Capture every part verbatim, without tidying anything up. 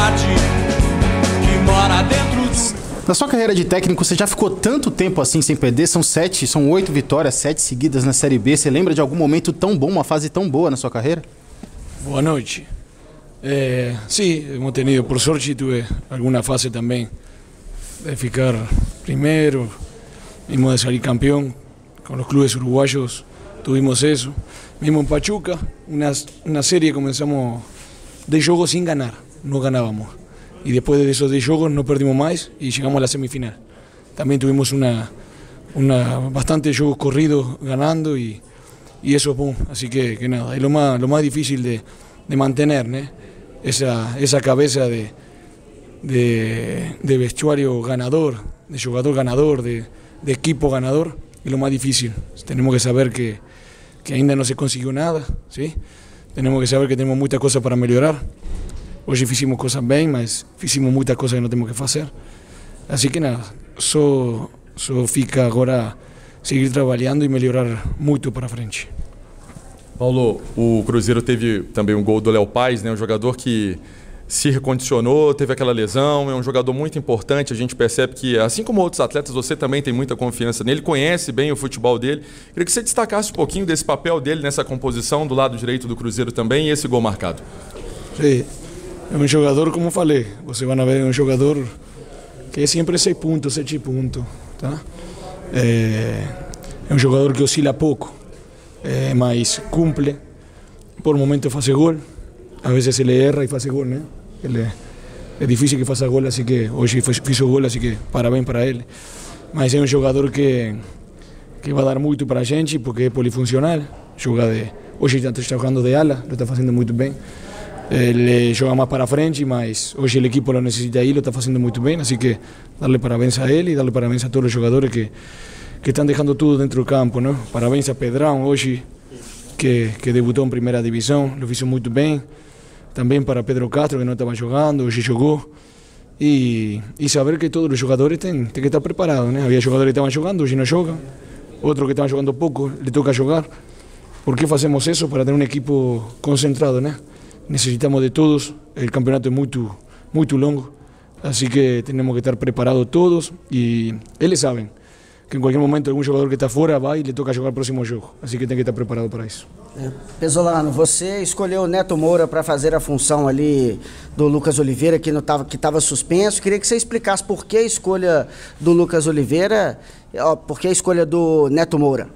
vontade que mora dentro do... Na sua carreira de técnico, você já ficou tanto tempo assim sem perder? São sete, são oito vitórias, sete seguidas na Série B. Você lembra de algum momento tão bom, uma fase tão boa na sua carreira? Boa noite. Eh, sí, hemos tenido, por suerte tuve alguna fase también de ficar primero, mismo de salir campeón con los clubes uruguayos, tuvimos eso. Mismo en Pachuca, una, una serie comenzamos de juegos sin ganar, no ganábamos. Y después de esos diez juegos no perdimos más y llegamos a la semifinal. También tuvimos una, una bastante juegos corridos ganando y, y eso es boom. Así que, que nada, es lo más, lo más difícil de, de mantener, ¿no? esa, esa cabeza de, de, de vestuario ganador, de jugador ganador, de, de equipo ganador, es lo más difícil. Tenemos que saber que, que ainda no se consiguió nada, ¿sí? Tenemos que saber que tenemos muchas cosas para mejorar. Hoje fizemos coisas bem, mas fizemos muitas coisas que não temos que fazer. Assim que nada, só, só fica agora seguir trabalhando e melhorar muito para frente. Paulo, o Cruzeiro teve também um gol do Léo Paz, né? Um jogador que se recondicionou, teve aquela lesão, é um jogador muito importante, a gente percebe que, assim como outros atletas, você também tem muita confiança nele, conhece bem o futebol dele. Queria que você destacasse um pouquinho desse papel dele nessa composição do lado direito do Cruzeiro também e esse gol marcado. Sim. É um jogador, como falei, vocês vão ver, é um jogador que é sempre seis pontos, sete pontos, tá? É, é um jogador que oscila pouco, é, mas cumpre, por momentos faz gol, às vezes ele erra e faz gol, né? Ele, é difícil que faça gol, assim que hoje fez o gol, assim que parabéns para ele. Mas é um jogador que, que vai dar muito para a gente, porque é polifuncional, joga de, hoje está jogando de ala, lo está fazendo muito bem. Ele joga mais para frente, mas hoje o equipo lo necessita aí, lo está fazendo muito bem, assim que darle parabéns a ele e darle parabéns a todos os jogadores que, que estão deixando tudo dentro do campo, não? Parabéns a Pedrão hoje, que, que debutou em primeira divisão, lo fez muito bem. Também para Pedro Castro, que não estava jogando, hoje jogou. E, e saber que todos os jogadores têm, têm que estar preparados, né? Havia jogadores que estavam jogando, hoje não jogam. Outros que estavam jogando pouco, lhe toca jogar. Por que fazemos isso? Para ter um equipo concentrado, né? Necesitamos de todos, el campeonato es muy, muy longo, así que tenemos que estar preparados todos y ellos saben que en cualquier momento algún jogador que está fora vai e le toca jogar o próximo jogo, assim que tem que estar preparado para isso. Pesolano, você escolheu o Neto Moura para fazer a função ali do Lucas Oliveira, que estava que estava suspenso. Queria que você explicasse por que a escolha do Lucas Oliveira, por que a escolha do Neto Moura.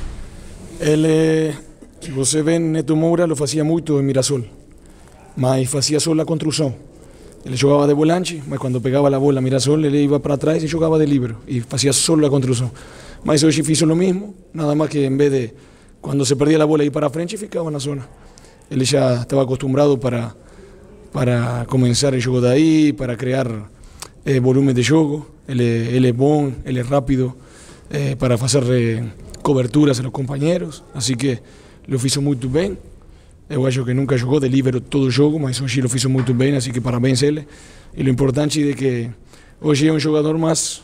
Ele, se você vê, Neto Moura lo fazia muito em Mirassol, mas fazia só a construção. Ele jogava de volante, mas quando pegava a bola a Mirassol, ele ia para trás e jogava de líbero, e fazia só a construção. Mas hoje fiz o mesmo, nada mais que em vez de, quando se perdia a bola, ir para frente, ficava na zona. Ele já estava acostumado para, para começar o jogo daí, para criar eh, volume de jogo. Ele, ele é bom, ele é rápido, eh, para fazer eh, coberturas a los companheiros, assim que lo fiz muito bem. Eu acho que nunca jogou de líbero todo o jogo, mas hoje lo fez muito bem, assim que parabéns a ele. E o importante é que hoje é um jogador mais,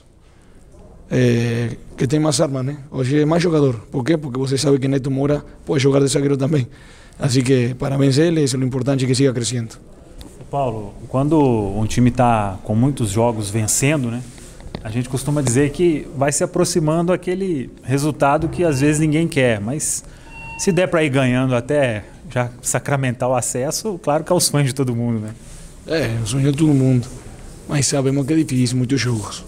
eh, que tem mais armas, né? Hoje é mais jogador. Por quê? Porque você sabe que Neto Moura pode jogar de zagueiro também. Assim que parabéns a ele, isso é o importante, que siga crescendo. Paulo, quando um time está com muitos jogos vencendo, né? A gente costuma dizer que vai se aproximando aquele resultado que às vezes ninguém quer, mas se der para ir ganhando até já sacramentar o acesso, claro que é o sonho de todo mundo, né? É, é o sonho de todo mundo, mas sabemos que é difícil, muitos jogos.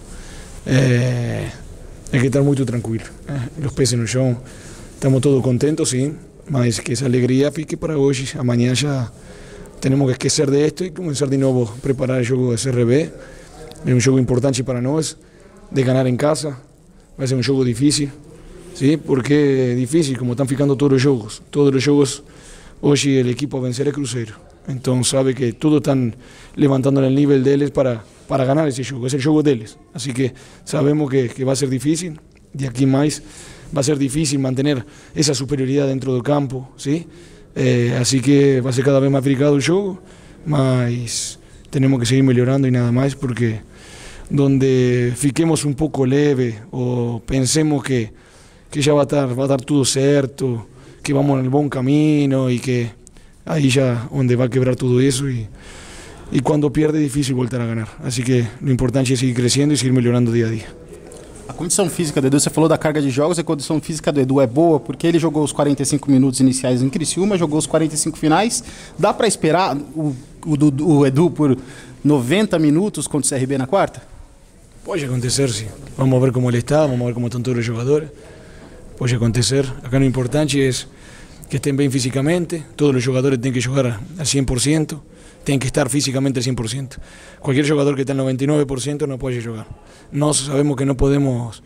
É, é que estar muito tranquilo, né? Os pés no chão, estamos todos contentos, sim, mas que essa alegria fique para hoje. Amanhã já temos que esquecer de esto e começar de novo a preparar o jogo da C R B. É um jogo importante para nós, de ganhar em casa, vai ser um jogo difícil, sim, porque é difícil, como estão ficando todos os jogos, todos os jogos. Hoje o equipo a vencer é Cruzeiro, então sabe que todos estão levantando o nível deles para, para ganhar esse jogo, é o jogo deles. Assim que sabemos que, que vai ser difícil, de aqui mais vai ser difícil manter essa superioridade dentro do campo, ¿sí? Eh, assim que vai ser cada vez mais brigado o jogo, mas temos que seguir melhorando e nada mais, porque donde fiquemos um pouco leve ou pensemos que, que já vai estar, vai dar tudo certo, que vamos no bom caminho e que aí já onde vai quebrar tudo isso e, y cuando pierde es difícil volver a ganar. Así que lo importante es seguir creciendo y seguir mejorando día a día. A condição física do Edu, você falou da carga de jogos, a condição física do Edu é boa, porque ele jogou os quarenta e cinco minutos iniciais em Criciúma, jogou os quarenta e cinco finais. Dá para esperar o, o, o Edu por noventa minutos contra o C R B na quarta? Pode acontecer, sim. Vamos ver como ele está, vamos ver como estão todos os jogadores. Pode acontecer. Acá lo importante é que estén bem fisicamente, todos os jogadores têm que jogar al cien por ciento, têm que estar físicamente al cien por ciento. Cualquier jogador que está al noventa y nueve por ciento no puede jogar. Nós sabemos que no podemos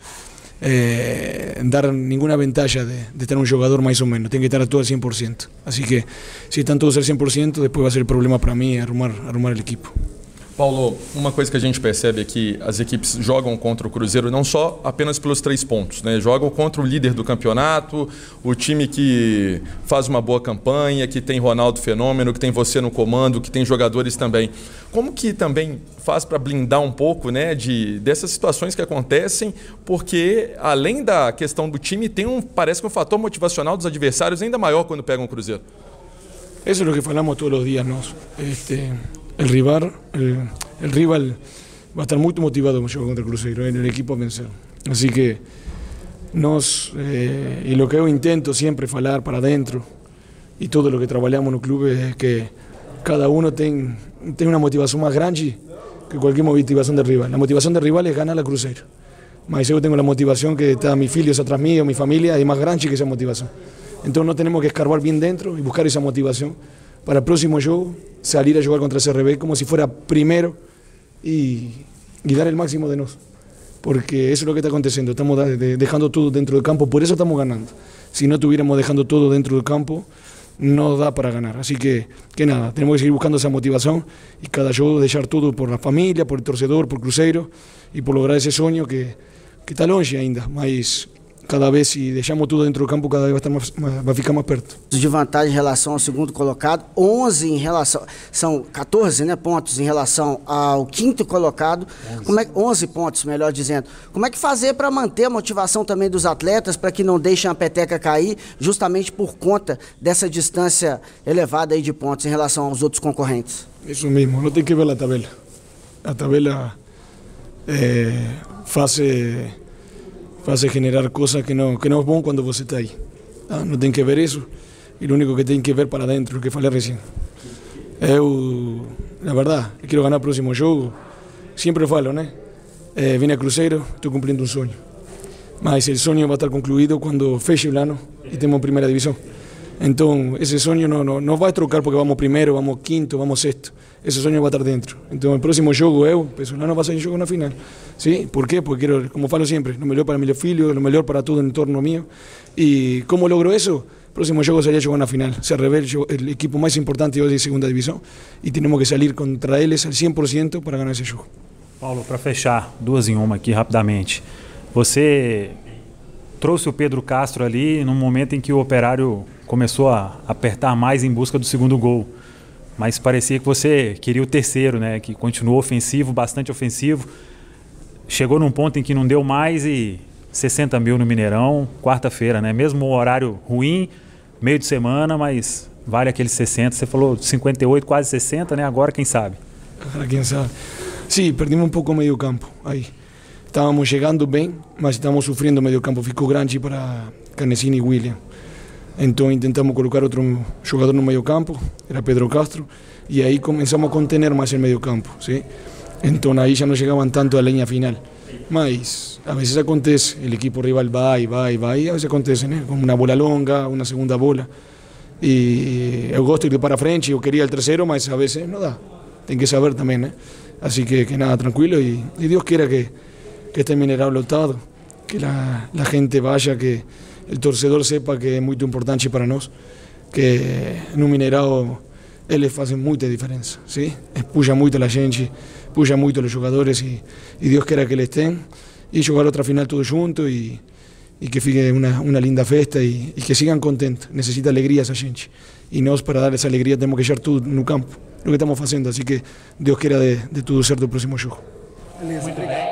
eh, dar ninguna ventaja de, de tener un jugador más o menos, tiene que estar todo al cien por ciento. Así que si están todos al cien por ciento, después va a ser el problema para mí arrumar, arrumar el equipo. Paulo, uma coisa que a gente percebe é que as equipes jogam contra o Cruzeiro não só apenas pelos três pontos, né? Jogam contra o líder do campeonato, o time que faz uma boa campanha, que tem Ronaldo Fenômeno, que tem você no comando, que tem jogadores também. Como que também faz para blindar um pouco, né, de, dessas situações que acontecem, porque além da questão do time, tem um, parece que um fator motivacional dos adversários ainda maior quando pegam o Cruzeiro? Eso es lo que falamos todos los días, ¿no? Este... El rival, el, el rival va a estar muy motivado para jugar contra el Cruzeiro, en el equipo a vencer. Así que nos, eh, y lo que yo intento siempre falar para adentro y todo lo que trabajamos en el club es que cada uno tenga ten una motivación más grande que cualquier motivación del rival. La motivación del rival es ganar al Cruzeiro. Mas yo tengo la motivación que está mis hijos atrás mío, mi familia, es más grande que esa motivación. Entonces no tenemos que escarbar bien dentro y buscar esa motivación para el próximo juego salir a jugar contra C R B como si fuera primero y, y dar el máximo de nos. Porque eso es lo que está aconteciendo, estamos dejando todo dentro del campo, por eso estamos ganando. Si no estuviéramos dejando todo dentro del campo, no da para ganar. Así que, que nada, tenemos que seguir buscando esa motivación y cada juego dejar todo por la familia, por el torcedor, por Cruzeiro y por lograr ese sueño que, que está longe ainda, mas cada vez, se deixamos tudo dentro do campo, cada vez vai, estar mais, mais, vai ficar mais perto. De vantagem em relação ao segundo colocado, onze em relação, são quatorze, né, pontos em relação ao quinto colocado, onze. Como é, onze pontos, melhor dizendo. Como é que fazer para manter a motivação também dos atletas, para que não deixem a peteca cair, justamente por conta dessa distância elevada aí de pontos em relação aos outros concorrentes? Isso mesmo, não tem que ver a tabela. A tabela é, faz... Hace generar cosas que no, que no es bueno cuando vos está ahí. Ah, no tienen que ver eso, y lo único que tienen que ver para adentro, lo que falei recién. Eu, la verdad, quiero ganar el próximo juego. Siempre falo, ¿no? Eh, vine a Cruzeiro, estoy cumpliendo un sueño. Mas el sueño va a estar concluido cuando feche el ano y tenemos primera división. Entonces, ese sueño no, no, no va a trocar porque vamos primero, vamos quinto, vamos sexto. Ese sueño va a estar dentro. Entonces, el próximo juego, eu, Pesolano va a ser un juego en la final. ¿Sí? ¿Por qué? Porque quiero, como falo siempre, lo mejor para mi filho, lo mejor para todo el entorno mío. ¿Y cómo logro eso? El próximo juego sería jugar en la final. Se revela el equipo más importante hoy de segunda división y tenemos que salir contra eles al cem por ciento para ganar esse jogo. Paulo, para fechar, duas em uma aqui rapidamente. Você trouxe o Pedro Castro ali num momento em que o Operário começou a apertar mais em busca do segundo gol. Mas parecia que você queria o terceiro, né? Que continuou ofensivo, bastante ofensivo. Chegou num ponto em que não deu mais e sessenta mil no Mineirão, quarta-feira, né? Mesmo o horário ruim, meio de semana, mas vale aqueles sessenta. Você falou cinquenta e oito, quase sessenta, né? Agora quem sabe? Agora quem sabe. Sim, perdimos um pouco o meio campo aí. Estávamos chegando bem, mas estávamos sofrendo o meio campo. Ficou grande para Canessini e William. Então intentamos colocar outro jogador no meio campo, era Pedro Castro, e aí começamos a contener mais o meio campo, ¿sí? Então aí já não chegavam tanto à linha final. Mas a vezes acontece, o equipo rival vai, vai, vai, e a vezes acontece, né? Como uma bola longa, uma segunda bola. E eu gosto de ir para frente, eu queria o terceiro, mas a vezes não dá. Tem que saber também, né? Assim que, que nada, tranquilo, e, e Deus queira que, que este Mineirão lotado, que a gente vaya, que el torcedor sepa que é muito importante para nós, que no Mineirão eles fazem muita diferença, ¿sí? Puxa muito a gente, puxa muito os jogadores e, e Deus queira que eles tenham e jogar outra final todos juntos e, e que fique uma, uma linda festa e, e que sigam contentos. Necessita alegria essa gente e nós para dar essa alegria temos que deixar tudo no campo, o que estamos fazendo, assim que Deus queira de, de tudo certo o próximo jogo. Beleza, obrigado.